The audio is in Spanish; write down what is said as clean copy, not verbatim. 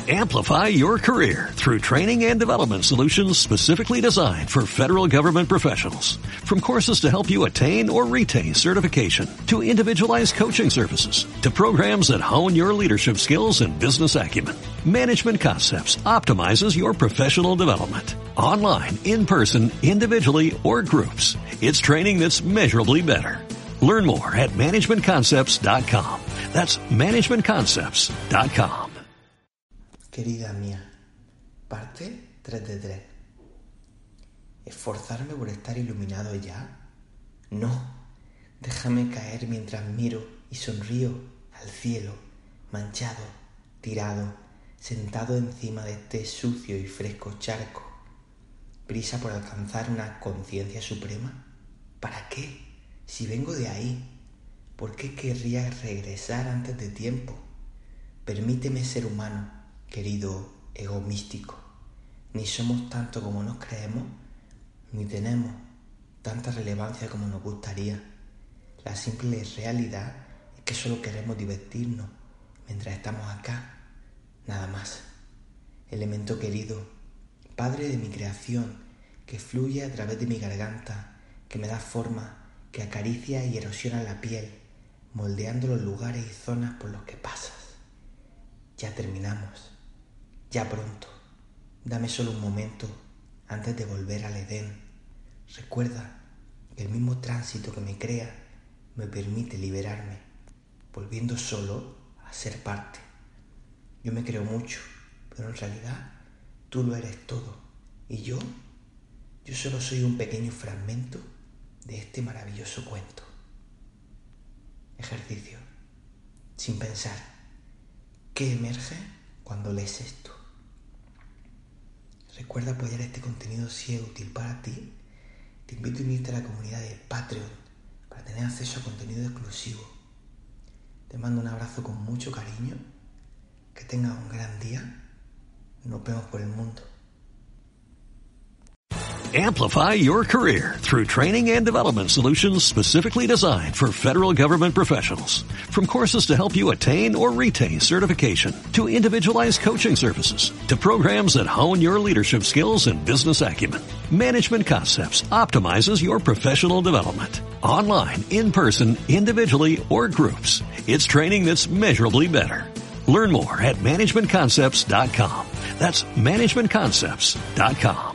Amplify your career through training and development solutions specifically designed for federal government professionals. From courses to help you attain or retain certification, to individualized coaching services, to programs that hone your leadership skills and business acumen, Management Concepts optimizes your professional development. Online, in person, individually, or groups, it's training that's measurably better. Learn more at managementconcepts.com. That's managementconcepts.com. Querida mía, parte 3 de 3. ¿Esforzarme por estar iluminado ya? No, déjame caer mientras miro y sonrío al cielo, manchado, tirado, sentado encima de este sucio y fresco charco. ¿Prisa por alcanzar una conciencia suprema? ¿Para qué? Si vengo de ahí, ¿por qué querría regresar antes de tiempo? Permíteme ser humano, querido ego místico. Ni somos tanto como nos creemos, ni tenemos tanta relevancia como nos gustaría. La simple realidad es que solo queremos divertirnos mientras estamos acá, nada más. Elemento querido, Padre de mi creación, que fluye a través de mi garganta, que me da forma, que acaricia y erosiona la piel, moldeando los lugares y zonas por los que pasas. Ya terminamos. Ya pronto, dame solo un momento antes de volver al Edén. Recuerda que el mismo tránsito que me crea me permite liberarme, volviendo solo a ser parte. Yo me creo mucho, pero en realidad tú lo eres todo. Y yo solo soy un pequeño fragmento de este maravilloso cuento. Ejercicio. Sin pensar. ¿Qué emerge cuando lees esto? Recuerda apoyar este contenido si es útil para ti. Te invito a unirte a la comunidad de Patreon para tener acceso a contenido exclusivo. Te mando un abrazo con mucho cariño. Que tengas un gran día. Nos vemos por el mundo. Amplify your career through training and development solutions specifically designed for federal government professionals. From courses to help you attain or retain certification, to individualized coaching services, to programs that hone your leadership skills and business acumen, Management Concepts optimizes your professional development. Online, in person, individually, or groups, it's training that's measurably better. Learn more at managementconcepts.com. That's managementconcepts.com.